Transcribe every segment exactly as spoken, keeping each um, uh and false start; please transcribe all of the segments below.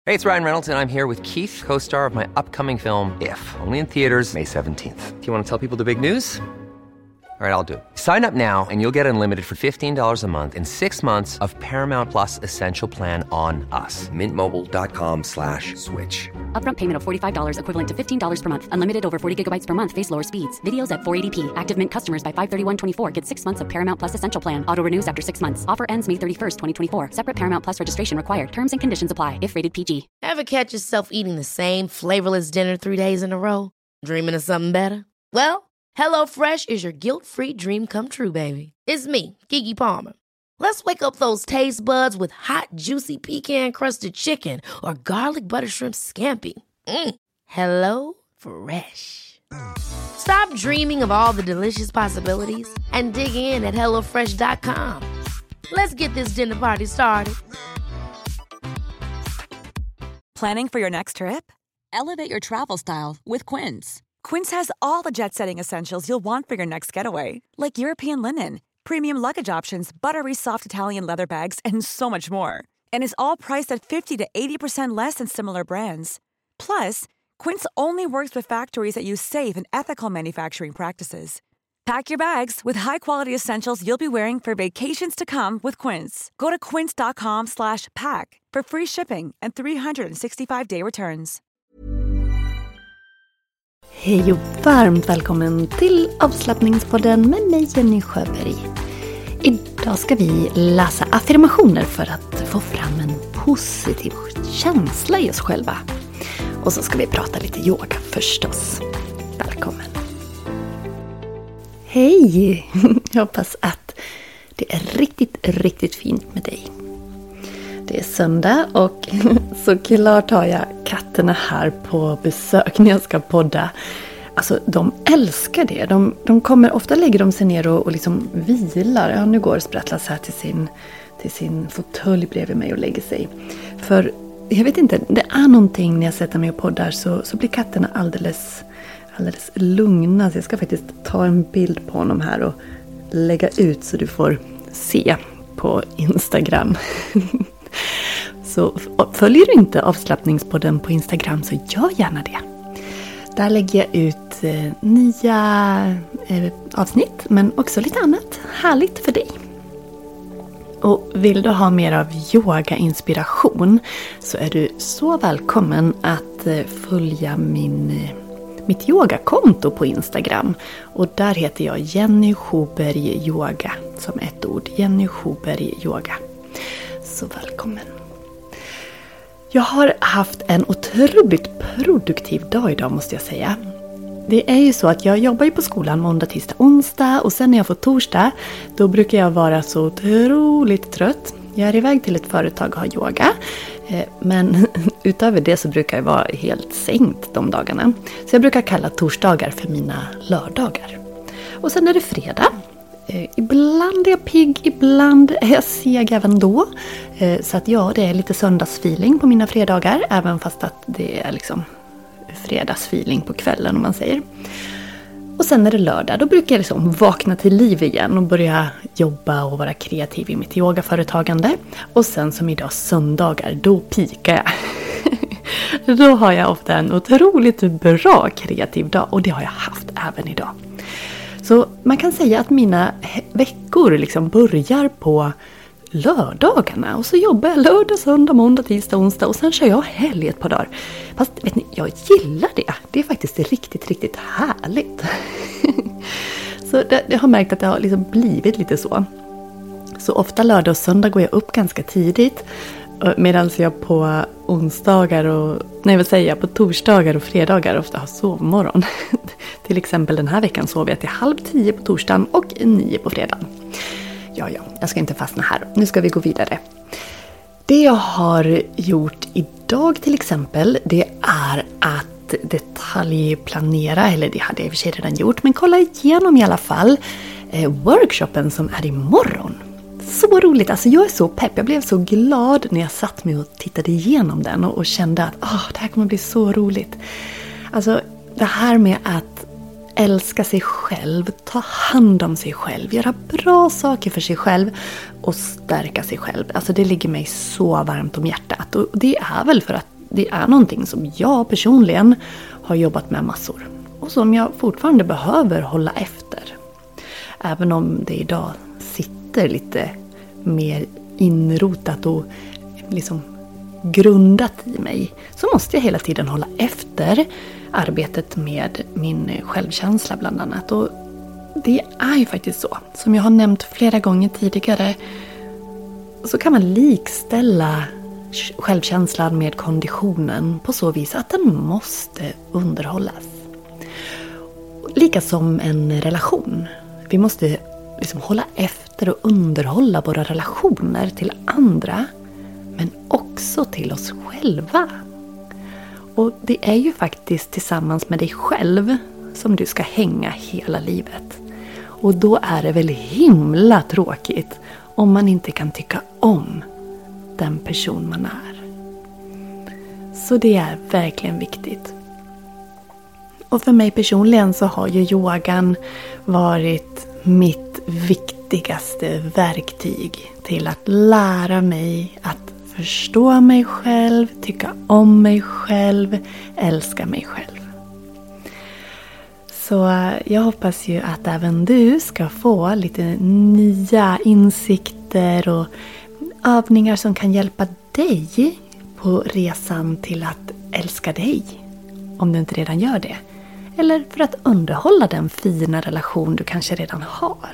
Hey, it's Ryan Reynolds, and I'm here with Keith, co-star of my upcoming film, If, only in theaters May seventeenth. Do you want to tell people the big news? All right, I'll do it. Sign up now and you'll get unlimited for fifteen dollars a month and six months of Paramount Plus Essential Plan on us. Mint Mobile dot com slash switch. Upfront payment of forty-five dollars equivalent to fifteen dollars per month. Unlimited over forty gigabytes per month. Face lower speeds. Videos at four eighty p. Active Mint customers by five thirty-one twenty-four get six months of Paramount Plus Essential Plan. Auto renews after six months. Offer ends May thirty-first, twenty twenty-four. Separate Paramount Plus registration required. Terms and conditions apply if rated P G. Ever catch yourself eating the same flavorless dinner three days in a row? Dreaming of something better? Well, HelloFresh is your guilt-free dream come true, baby. It's me, Keke Palmer. Let's wake up those taste buds with hot, juicy pecan-crusted chicken or garlic butter shrimp scampi. Mm. Hello Fresh. Stop dreaming of all the delicious possibilities and dig in at hello fresh dot com. Let's get this dinner party started. Planning for your next trip? Elevate your travel style with Quince. Quince has all the jet-setting essentials you'll want for your next getaway, like European linen, premium luggage options, buttery soft Italian leather bags, and so much more. And is all priced at fifty to eighty percent less than similar brands. Plus, Quince only works with factories that use safe and ethical manufacturing practices. Pack your bags with high-quality essentials you'll be wearing for vacations to come with Quince. Go to quince dot com slash pack for free shipping and three sixty-five day returns. Hej och varmt välkommen till avslappningspodden med mig, Jenny Sjöberg. Idag ska vi läsa affirmationer för att få fram en positiv känsla i oss själva. Och så ska vi prata lite yoga förstås. Välkommen. Hej! Jag hoppas att det är riktigt, riktigt fint med dig. Det är söndag och såklart har jag katterna här på besök när jag ska podda. Alltså de älskar det. De, de kommer, ofta lägger de sig ner och, och liksom vilar. Ja, nu går Sprattlas här till sin, till sin fåtölj bredvid mig och lägger sig. För jag vet inte, det är någonting när jag sätter mig och poddar så, så blir katterna alldeles, alldeles lugna. Så jag ska faktiskt ta en bild på honom här och lägga ut så du får se på Instagram. Så följer du inte avslappningspodden på Instagram så gör gärna det. Där lägger jag ut eh, nya eh, avsnitt men också lite annat härligt för dig. Och vill du ha mer av yoga-inspiration så är du så välkommen att eh, följa min, eh, mitt yogakonto på Instagram. Och där heter jag Jenny Sjöberg Yoga som ett ord. Jenny Sjöberg Yoga. Så välkommen. Jag har haft en otroligt produktiv dag idag måste jag säga. Det är ju så att jag jobbar ju på skolan måndag, tisdag, onsdag och sen när jag får torsdag då brukar jag vara så otroligt trött. Jag är iväg till ett företag och har yoga. Men utöver det så brukar jag vara helt sänkt de dagarna. Så jag brukar kalla torsdagar för mina lördagar. Och sen är det fredag. Ibland är jag pigg, ibland är jag seg även då. Så att ja, det är lite söndagsfeeling på mina fredagar. Även fast att det är liksom fredagsfeeling på kvällen om man säger. Och sen är det lördag, då brukar jag liksom vakna till liv igen och börja jobba och vara kreativ i mitt yogaföretagande. Och sen som idag söndagar, då pikar jag. Då har jag ofta en otroligt bra kreativ dag och det har jag haft även idag. Så man kan säga att mina veckor liksom börjar på lördagarna. Och så jobbar jag lördag, söndag, måndag, tisdag, onsdag. Och sen kör jag helg ett par dagar. Fast vet ni, jag gillar det. Det är faktiskt riktigt, riktigt härligt. Så det, jag har märkt att det har liksom blivit lite så. Så ofta lördag och söndag går jag upp ganska tidigt. Medan jag på onsdagar och, nej vad säger jag, på torsdagar och fredagar ofta har sovmorgon. Till exempel den här veckan sov jag till halv tio på torsdagen och nio på fredagen. Ja, ja, jag ska inte fastna här. Nu ska vi gå vidare. Det jag har gjort idag till exempel, det är att detaljplanera, eller det hade jag i och för sig redan gjort, men kolla igenom i alla fall eh, workshopen som är imorgon. Så roligt, alltså jag är så pepp, jag blev så glad när jag satt mig och tittade igenom den och, och kände att oh, det här kommer bli så roligt. Alltså det här med att älska sig själv, ta hand om sig själv, göra bra saker för sig själv och stärka sig själv. Alltså det ligger mig så varmt om hjärtat och det är väl för att det är någonting som jag personligen har jobbat med massor. Och som jag fortfarande behöver hålla efter. Även om det idag sitter lite mer inrotat och liksom grundat i mig, så måste jag hela tiden hålla efter arbetet med min självkänsla bland annat. Och det är ju faktiskt så. Som jag har nämnt flera gånger tidigare, så kan man likställa självkänslan med konditionen på så vis att den måste underhållas. Lika som en relation. Vi måste liksom hålla efter och underhålla våra relationer till andra, men också till oss själva. Och det är ju faktiskt tillsammans med dig själv som du ska hänga hela livet. Och då är det väl himla tråkigt om man inte kan tycka om den person man är. Så det är verkligen viktigt. Och för mig personligen så har ju yogan varit mitt viktigaste verktyg till att lära mig att förstå mig själv, tycka om mig själv, älska mig själv. Så jag hoppas ju att även du ska få lite nya insikter och övningar som kan hjälpa dig på resan till att älska dig, om du inte redan gör det. Eller för att underhålla den fina relation du kanske redan har.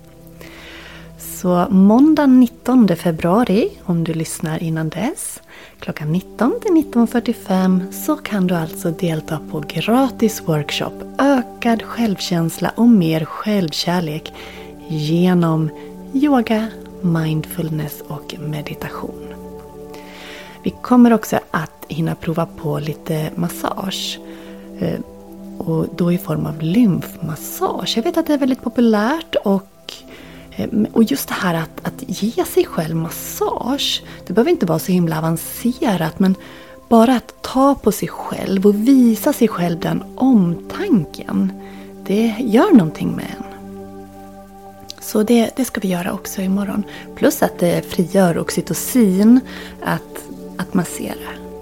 Så måndag nittonde februari, om du lyssnar innan dess, klockan nitton till nitton fyrtiofem, så kan du alltså delta på gratis workshop Ökad självkänsla och mer självkärlek genom yoga, mindfulness och meditation. Vi kommer också att hinna prova på lite massage. Och då i form av lymfmassage. Jag vet att det är väldigt populärt och, och just det här att, att ge sig själv massage. Det behöver inte vara så himla avancerat, men bara att ta på sig själv och visa sig själv den omtanken. Det gör någonting med en. Så det, det ska vi göra också imorgon. Plus att det frigör oxytocin att, att massera.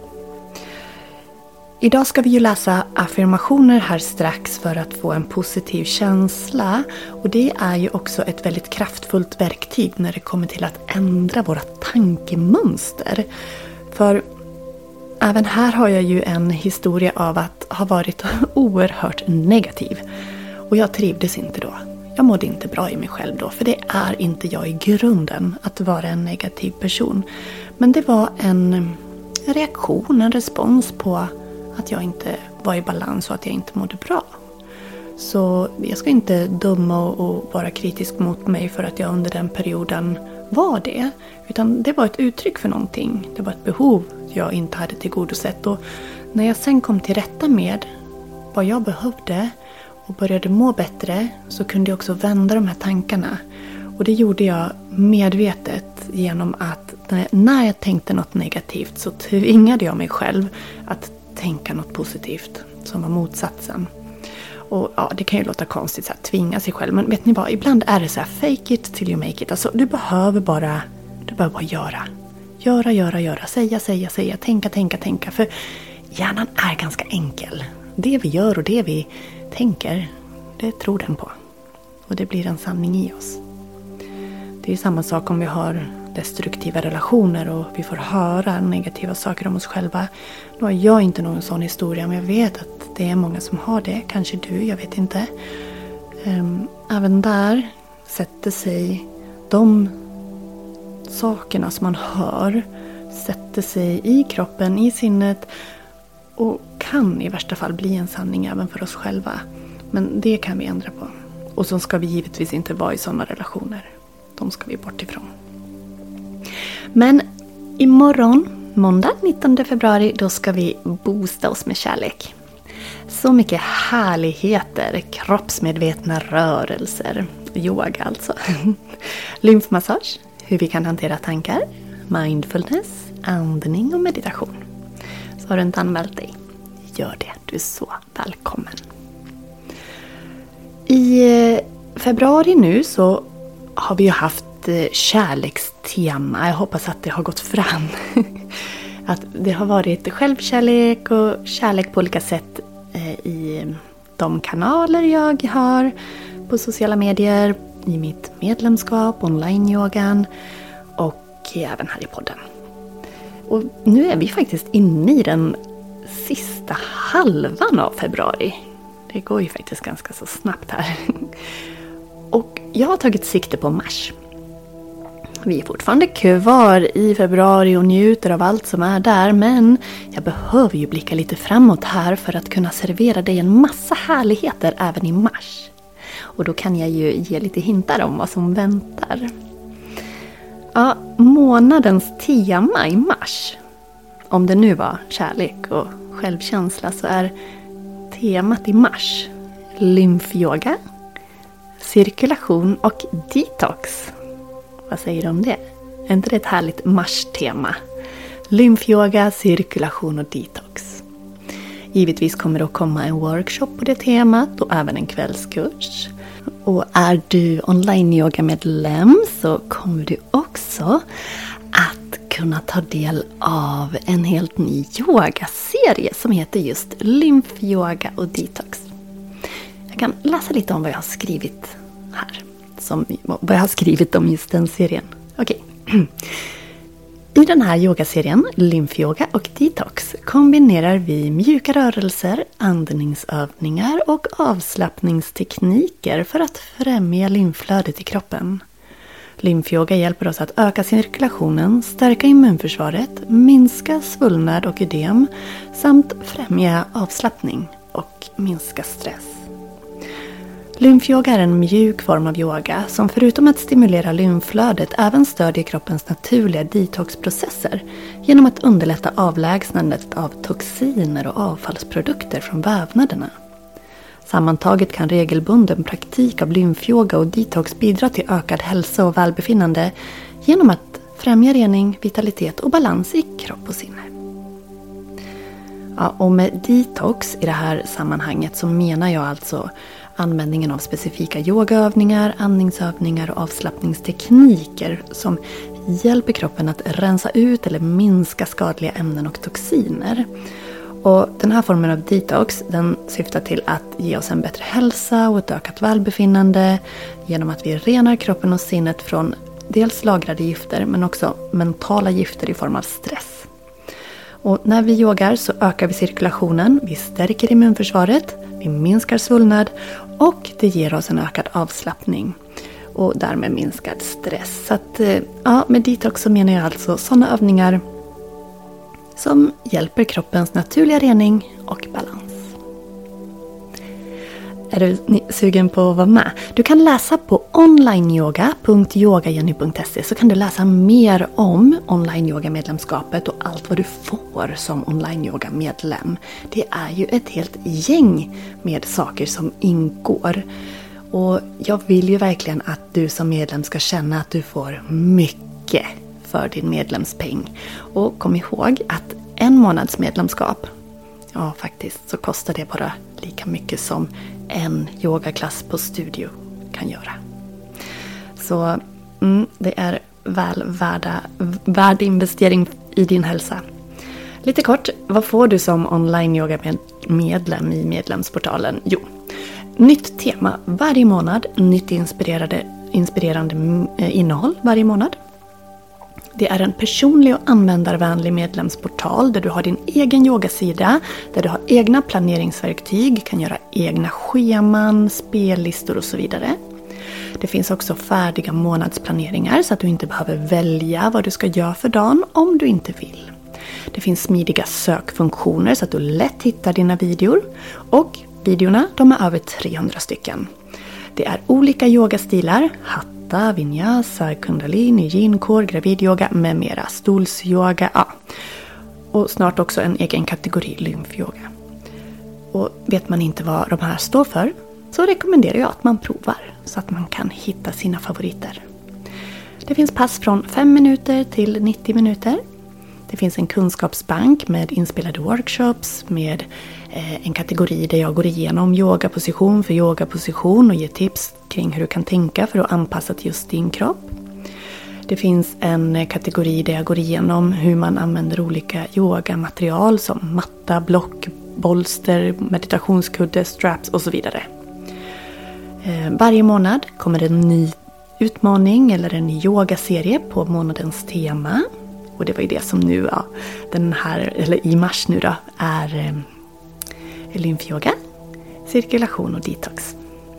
Idag ska vi ju läsa affirmationer här strax för att få en positiv känsla. Och det är ju också ett väldigt kraftfullt verktyg när det kommer till att ändra våra tankemönster. För även här har jag ju en historia av att ha varit oerhört negativ. Och jag trivdes inte då. Jag mådde inte bra i mig själv då, för det är inte jag i grunden att vara en negativ person. Men det var en reaktion, en respons på att jag inte var i balans och att jag inte mådde bra. Så jag ska inte döma och vara kritisk mot mig för att jag under den perioden var det. Utan det var ett uttryck för någonting. Det var ett behov jag inte hade tillgodosett. Och när jag sen kom till rätta med vad jag behövde och började må bättre, så kunde jag också vända de här tankarna. Och det gjorde jag medvetet genom att när jag tänkte något negativt så tvingade jag mig själv att tänka något positivt som var motsatsen. Och ja, det kan ju låta konstigt så här, tvinga sig själv. Men vet ni vad, ibland är det så här, fake it till you make it. Alltså du behöver bara, du behöver bara göra. Göra, göra, göra. Säga, säga, säga. Tänka, tänka, tänka. För hjärnan är ganska enkel. Det vi gör och det vi tänker, det tror den på. Och det blir en sanning i oss. Det är ju samma sak om vi har destruktiva relationer och vi får höra negativa saker om oss själva. Nu har jag inte någon sån historia, men jag vet att det är många som har det. Kanske du, jag vet inte. Även där sätter sig de sakerna som man hör, sätter sig i kroppen, i sinnet och kan i värsta fall bli en sanning även för oss själva. Men det kan vi ändra på. Och så ska vi givetvis inte vara i sådana relationer. De ska vi bort ifrån. Men imorgon, måndag nittonde februari, då ska vi boosta oss med kärlek. Så mycket härligheter, kroppsmedvetna rörelser, yoga alltså. Lymfmassage, hur vi kan hantera tankar, mindfulness, andning och meditation. Så har du inte anmält dig, gör det, du är så välkommen. I februari nu så har vi ju haft kärlekstema. Jag hoppas att det har gått fram. att det har varit självkärlek och kärlek på olika sätt i de kanaler jag har på sociala medier, i mitt medlemskap, online-yogan och även här i podden. Och nu är vi faktiskt inne i den sista halvan av februari. Det går ju faktiskt ganska så snabbt här. Och jag har tagit sikte på mars. Vi är fortfarande kvar i februari och njuter av allt som är där. Men jag behöver ju blicka lite framåt här för att kunna servera dig en massa härligheter även i mars. Och då kan jag ju ge lite hintar om vad som väntar. Ja, månadens tema i mars. Om det nu var kärlek och självkänsla så är temat i mars lymfyoga, cirkulation och detox. Vad säger du om det? Är inte det ett härligt mars-tema? Lymfyoga, cirkulation och detox. Givetvis kommer det att komma en workshop på det temat och även en kvällskurs. Och är du online-yoga-medlem så kommer du också att kunna ta del av en helt ny yogaserie som heter just lymfyoga och detox. Jag kan läsa lite om vad jag har skrivit här. Som, vad jag har skrivit om just den serien. Okej. I den här yogaserien, lymfyoga och detox, kombinerar vi mjuka rörelser, andningsövningar och avslappningstekniker för att främja lymflödet i kroppen. Lymfyoga hjälper oss att öka cirkulationen, stärka immunförsvaret, minska svullnad och ödem samt främja avslappning och minska stress. Lymfyoga är en mjuk form av yoga som förutom att stimulera lymflödet även stödjer kroppens naturliga detoxprocesser genom att underlätta avlägsnandet av toxiner och avfallsprodukter från vävnaderna. Sammantaget kan regelbunden praktik av lymfyoga och detox bidra till ökad hälsa och välbefinnande genom att främja rening, vitalitet och balans i kropp och sinne. Ja, och med detox i det här sammanhanget så menar jag alltså användningen av specifika yogaövningar, andningsövningar och avslappningstekniker som hjälper kroppen att rensa ut eller minska skadliga ämnen och toxiner. Och den här formen av detox den syftar till att ge oss en bättre hälsa och ett ökat välbefinnande genom att vi renar kroppen och sinnet från dels lagrade gifter men också mentala gifter i form av stress. Och när vi yogar så ökar vi cirkulationen, vi stärker immunförsvaret, vi minskar svullnad och det ger oss en ökad avslappning och därmed minskad stress. Så att, ja, med detox så menar jag alltså sådana övningar som hjälper kroppens naturliga rening och balans. Är du sugen på att vara med? Du kan läsa på onlineyoga punkt yogajenny punkt se så kan du läsa mer om online-yoga-medlemskapet och allt vad du får som online-yoga-medlem. Det är ju ett helt gäng med saker som ingår. Och jag vill ju verkligen att du som medlem ska känna att du får mycket för din medlemspeng. Och kom ihåg att en månads medlemskap, ja faktiskt så kostar det bara lika mycket som en yogaklass på studio kan göra. Så mm, det är väl värda, värd investering i din hälsa. Lite kort, vad får du som online-yoga-medlem i medlemsportalen? Jo, nytt tema varje månad, nytt inspirerande, inspirerande innehåll varje månad. Det är en personlig och användarvänlig medlemsportal där du har din egen yogasida, där du har egna planeringsverktyg, kan göra egna scheman, spellistor och så vidare. Det finns också färdiga månadsplaneringar så att du inte behöver välja vad du ska göra för dagen om du inte vill. Det finns smidiga sökfunktioner så att du lätt hittar dina videor och videorna de är över trehundra stycken. Det är olika yogastilar, hatta, vinyasa, kundalini, yin-core, gravidyoga med mera, stolsyoga, ja. Och snart också en egen kategori lymfyoga. Och vet man inte vad de här står för så rekommenderar jag att man provar så att man kan hitta sina favoriter. Det finns pass från fem minuter till nittio minuter. Det finns en kunskapsbank med inspelade workshops med eh, en kategori där jag går igenom yogaposition för yogaposition och ger tips kring hur du kan tänka för att anpassa till just din kropp. Det Det finns en kategori där jag går igenom hur man använder olika yogamaterial som matta, block, bolster, meditationskudde, straps och så vidare. Varje månad kommer en ny utmaning eller en ny yogaserie på månadens tema. Och det var ju det som nu, ja, den här, eller i mars nu då, är eh, lymfyoga, cirkulation och detox.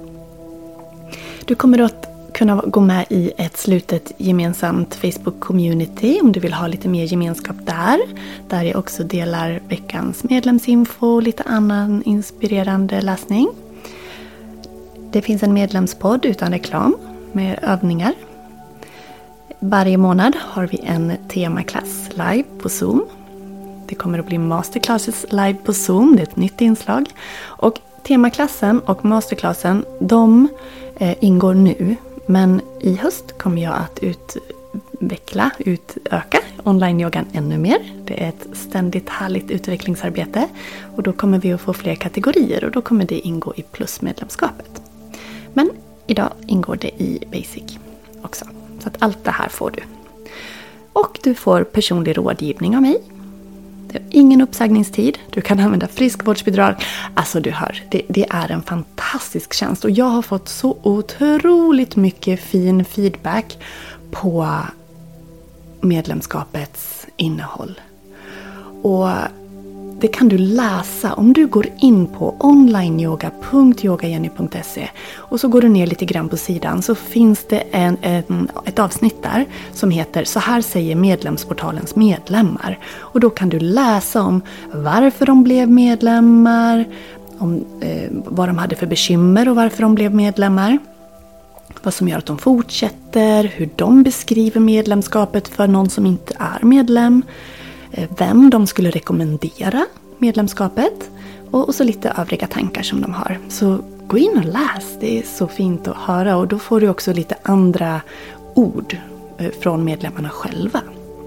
Du kommer att kunna gå med i ett slutet gemensamt Facebook-community om du vill ha lite mer gemenskap där. Där jag också delar veckans medlemsinfo och lite annan inspirerande läsning. Det finns en medlemspodd utan reklam med övningar. Varje månad har vi en temaklass live på Zoom. Det kommer att bli masterclasses live på Zoom, det är ett nytt inslag. Och temaklassen och masterclassen, de eh, ingår nu. Men i höst kommer jag att utveckla, utöka online-yogan ännu mer. Det är ett ständigt härligt utvecklingsarbete. Och då kommer vi att få fler kategorier och då kommer det ingå i plusmedlemskapet. Men idag ingår det i basic också. Så att allt det här får du. Och du får personlig rådgivning av mig. Det är ingen uppsägningstid. Du kan använda friskvårdsbidrag. Alltså du hör, det, det är en fantastisk tjänst. Och jag har fått så otroligt mycket fin feedback på medlemskapets innehåll. Och det kan du läsa om du går in på onlineyoga punkt yogajenny punkt se och så går du ner lite grann på sidan så finns det en, en, ett avsnitt där som heter Så här säger medlemsportalens medlemmar. Och då kan du läsa om varför de blev medlemmar, om eh, vad de hade för bekymmer och varför de blev medlemmar. Vad som gör att de fortsätter, hur de beskriver medlemskapet för någon som inte är medlem. Vem de skulle rekommendera medlemskapet och, och så lite övriga tankar som de har. Så gå in och läs, det är så fint att höra och då får du också lite andra ord från medlemmarna själva.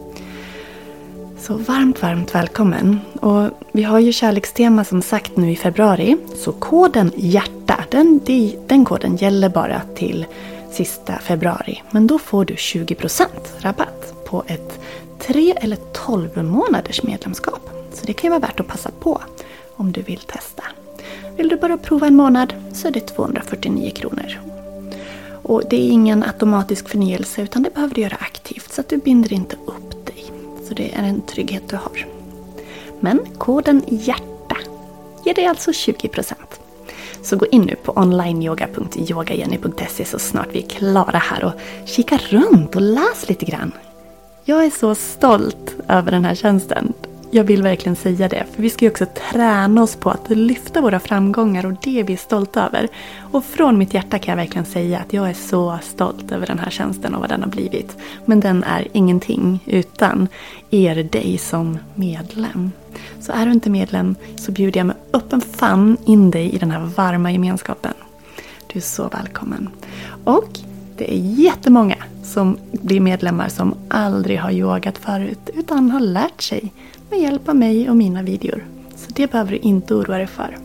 Så varmt, varmt välkommen. Och vi har ju kärlekstema som sagt nu i februari. Så koden hjärta, den, den koden gäller bara till sista februari. Men då får du tjugo procent rabatt på ett tre eller tolv månaders medlemskap. Så det kan ju vara värt att passa på om du vill testa. Vill du bara prova en månad så är det tvåhundrafyrtionio kronor. Och det är ingen automatisk förnyelse utan det behöver du göra aktivt så att du binder inte upp dig. Så det är en trygghet du har. Men koden hjärta ger dig alltså tjugo procent. Så gå in nu på onlineyoga punkt yogajenny punkt se så snart vi är klara här och kika runt och läs lite grann. Jag är så stolt över den här tjänsten. Jag vill verkligen säga det. För vi ska ju också träna oss på att lyfta våra framgångar och det är vi stolta över. Och från mitt hjärta kan jag verkligen säga att jag är så stolt över den här tjänsten och vad den har blivit. Men den är ingenting utan er dig som medlem. Så är du inte medlem så bjuder jag med öppen famn in dig i den här varma gemenskapen. Du är så välkommen. Och det är jättemånga som blir medlemmar som aldrig har yogat förut utan har lärt sig med hjälp av mig och mina videor. Så det behöver du inte oroa dig för.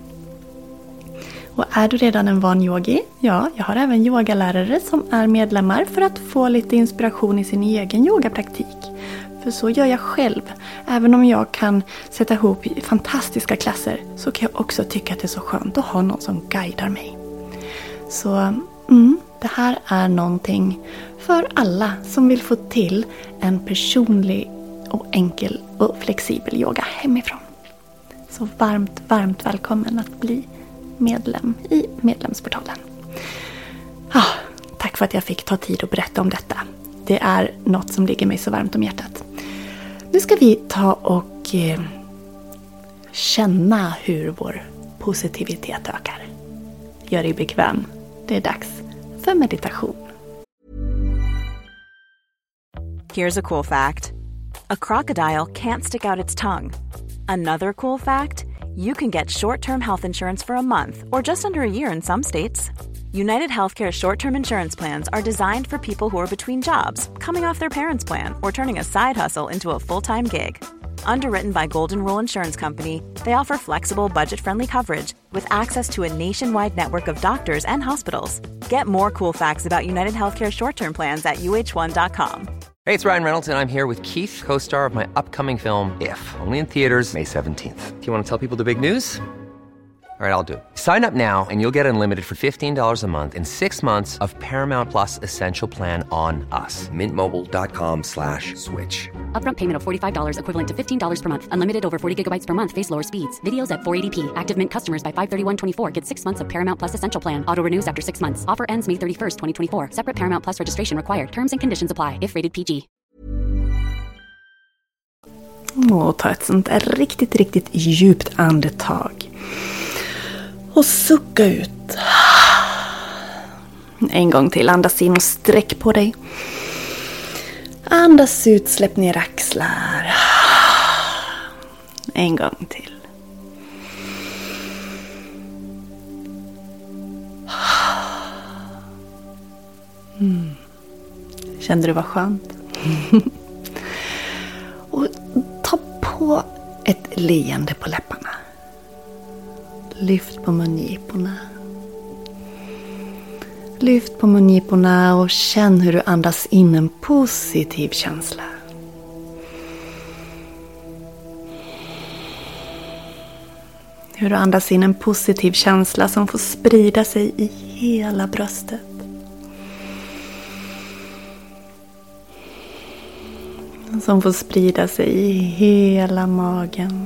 Och är du redan en van yogi? Ja, jag har även yogalärare som är medlemmar för att få lite inspiration i sin egen yogapraktik. För så gör jag själv. Även om jag kan sätta ihop fantastiska klasser så kan jag också tycka att det är så skönt att ha någon som guidar mig. Så mm, det här är någonting för alla som vill få till en personlig och enkel och flexibel yoga hemifrån. Så varmt, varmt välkommen att bli medlem i medlemsportalen. Ah, tack för att jag fick ta tid att berätta om detta. Det är något som ligger mig så varmt om hjärtat. Nu ska vi ta och eh, känna hur vår positivitet ökar. Gör dig bekväm. Det är dags för meditation. Here's a cool fact. A crocodile can't stick out its tongue. Another cool fact, you can get short-term health insurance for a month or just under a year in some states. United Healthcare short-term insurance plans are designed for people who are between jobs, coming off their parents' plan, or turning a side hustle into a full-time gig. Underwritten by Golden Rule Insurance Company, they offer flexible, budget-friendly coverage with access to a nationwide network of doctors and hospitals. Get more cool facts about United Healthcare short-term plans at u h one dot com. Hey, it's Ryan Reynolds, and I'm here with Keith, co-star of my upcoming film, If, only in theaters May seventeenth. Do you want to tell people the big news? All right, I'll do it. Sign up now and you'll get unlimited for fifteen dollars a month and six months of Paramount Plus Essential Plan on us. Mint Mobile dot com slash switch. Upfront payment of forty-five dollars equivalent to fifteen dollars per month. Unlimited over forty gigabytes per month. Face lower speeds. Videos at four eighty p. Active Mint customers by five thirty-one twenty-four get six months of Paramount Plus Essential Plan. Auto renews after six months. Offer ends May thirty-first, twenty twenty-four. Separate Paramount Plus registration required. Terms and conditions apply if rated P G. Och ta ett sånt där riktigt, riktigt djupt andetag. Och sucka ut. En gång till. Andas in och sträck på dig. Andas ut, släpp ner axlar. En gång till. Mm. Kände du vad skönt? Och ta på ett leende på läpparna. Lyft på mungiporna. Lyft på mungiporna och känn hur du andas in en positiv känsla. Hur du andas in en positiv känsla som får sprida sig i hela bröstet. Som får sprida sig i hela magen.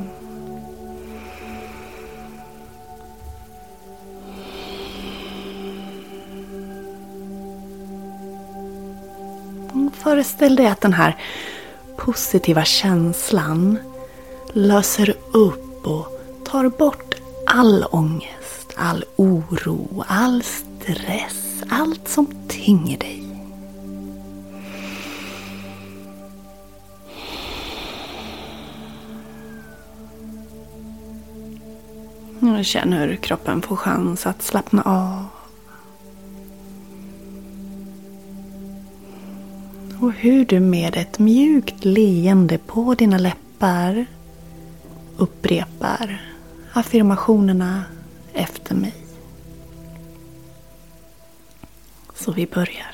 Föreställ dig att den här positiva känslan löser upp och tar bort all ångest, all oro, all stress, allt som tynger dig. Och känn hur kroppen får chans att slappna av. Och hur du med ett mjukt leende på dina läppar upprepar affirmationerna efter mig. Så vi börjar.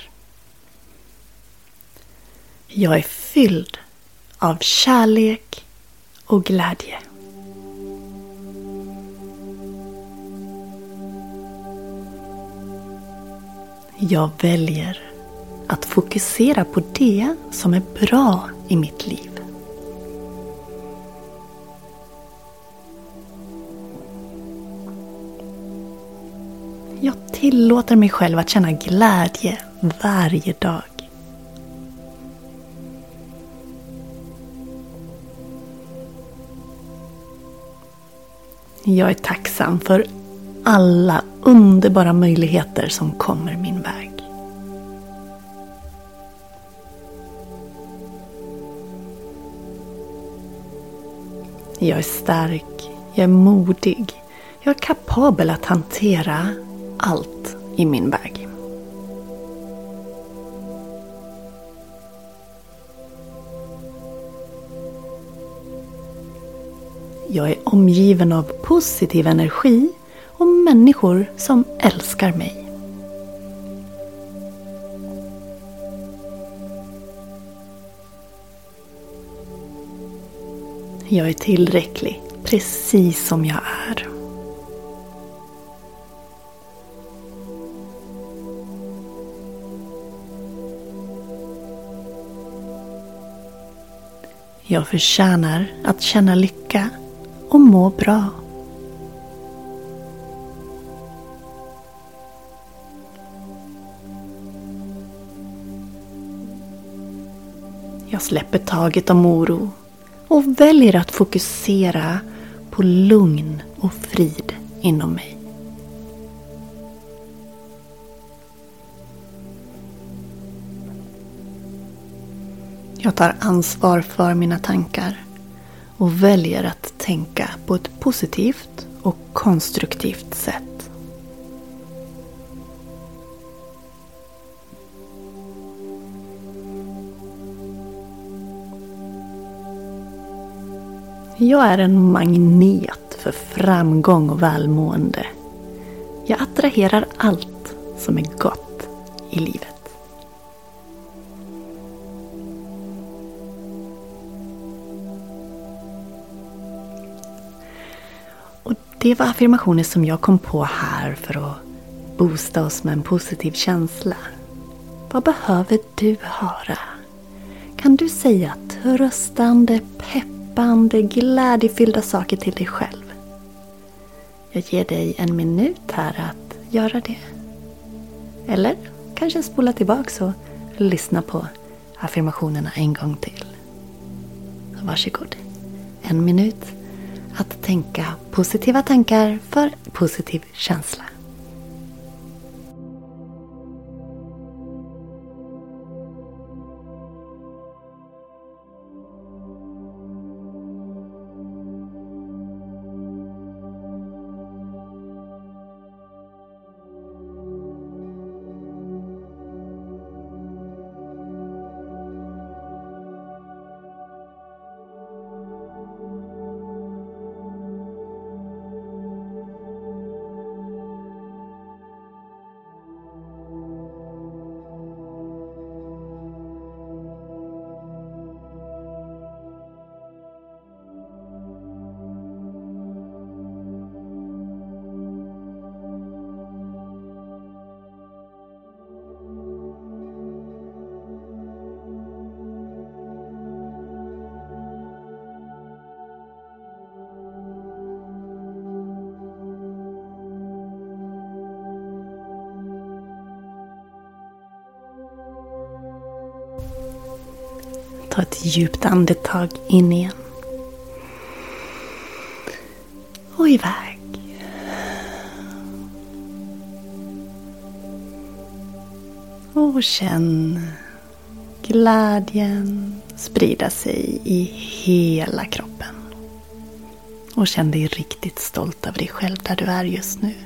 Jag är fylld av kärlek och glädje. Jag väljer att fokusera på det som är bra i mitt liv. Jag tillåter mig själv att känna glädje varje dag. Jag är tacksam för alla underbara möjligheter som kommer min väg. Jag är stark, jag är modig, jag är kapabel att hantera allt i min väg. Jag är omgiven av positiv energi och människor som älskar mig. Jag är tillräcklig, precis som jag är. Jag förtjänar att känna lycka och må bra. Jag släpper taget om oro och väljer att fokusera på lugn och frid inom mig. Jag tar ansvar för mina tankar och väljer att tänka på ett positivt och konstruktivt sätt. Jag är en magnet för framgång och välmående. Jag attraherar allt som är gott i livet. Det var affirmationer som jag kom på här för att boosta oss med en positiv känsla. Vad behöver du höra? Kan du säga tröstande, peppande, glädjefyllda saker till dig själv? Jag ger dig en minut här att göra det. Eller kanske spola tillbaka och lyssna på affirmationerna en gång till. Varsågod. En minut att tänka positiva tankar för positiv känsla. Ta ett djupt andetag in igen. Och iväg. Och känn glädjen sprida sig i hela kroppen. Och känn dig riktigt stolt över dig själv där du är just nu.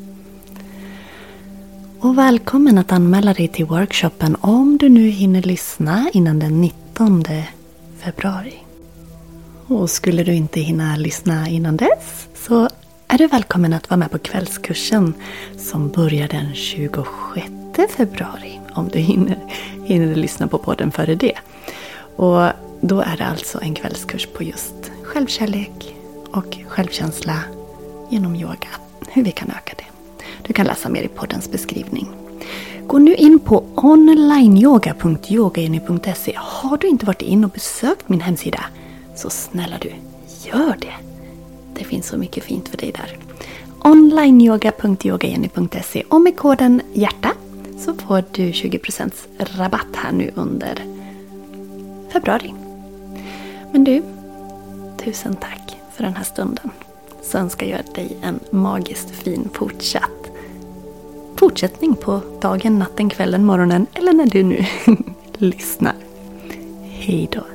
Och välkommen att anmäla dig till workshopen om du nu hinner lyssna innan den nittonde februari. Och skulle du inte hinna lyssna innan dess så är du välkommen att vara med på kvällskursen som börjar den tjugosjätte februari. Om du hinner, hinner lyssna på podden före det. Och då är det alltså en kvällskurs på just självkärlek och självkänsla genom yoga. Hur vi kan öka det. Du kan läsa mer i poddens beskrivning. Gå nu in på onlineyoga punkt yogajenny punkt se. Har du inte varit in och besökt min hemsida så snälla du, gör det. Det finns så mycket fint för dig där. onlineyoga punkt yogajenny punkt se. Och med koden hjärta så får du tjugo procent rabatt här nu under februari. Men du, tusen tack för den här stunden. Så önskar jag dig en magiskt fin fortsatt fortsättning på dagen, natten, kvällen, morgonen eller när du nu lyssnar. Hej då!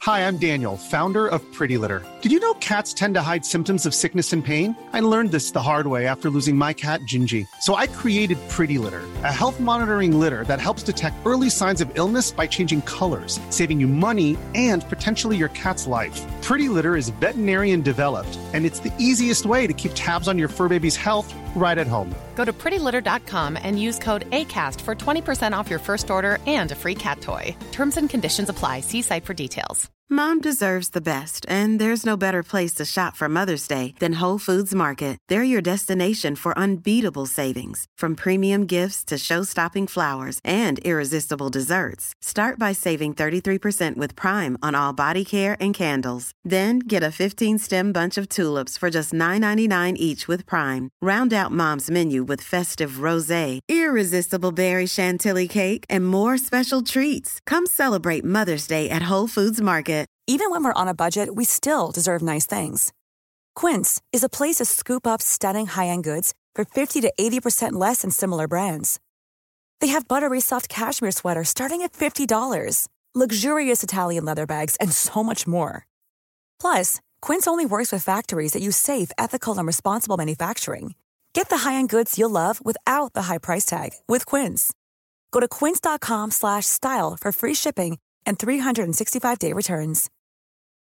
Hi, I'm Daniel, founder of Pretty Litter. Did you know cats tend to hide symptoms of sickness and pain? I learned this the hard way after losing my cat, Gingy. So I created Pretty Litter, a health monitoring litter that helps detect early signs of illness by changing colors, saving you money and potentially your cat's life. Pretty Litter is veterinarian developed, and it's the easiest way to keep tabs on your fur baby's health right at home. Go to pretty litter dot com and use code ACAST for twenty percent off your first order and a free cat toy. Terms and conditions apply. See site for details. Mom deserves the best, and there's no better place to shop for Mother's Day than Whole Foods Market. They're your destination for unbeatable savings, from premium gifts to show-stopping flowers and irresistible desserts. Start by saving thirty-three percent with Prime on all body care and candles. Then get a fifteen-stem bunch of tulips for just nine ninety-nine each with Prime. Round out Mom's menu with festive rosé, irresistible berry chantilly cake, and more special treats. Come celebrate Mother's Day at Whole Foods Market. Even when we're on a budget, we still deserve nice things. Quince is a place to scoop up stunning high-end goods for fifty to eighty percent less than similar brands. They have buttery soft cashmere sweaters starting at fifty dollars, luxurious Italian leather bags, and so much more. Plus, Quince only works with factories that use safe, ethical, and responsible manufacturing. Get the high-end goods you'll love without the high price tag with Quince. Go to quince dot com slash style for free shipping and three sixty-five day returns.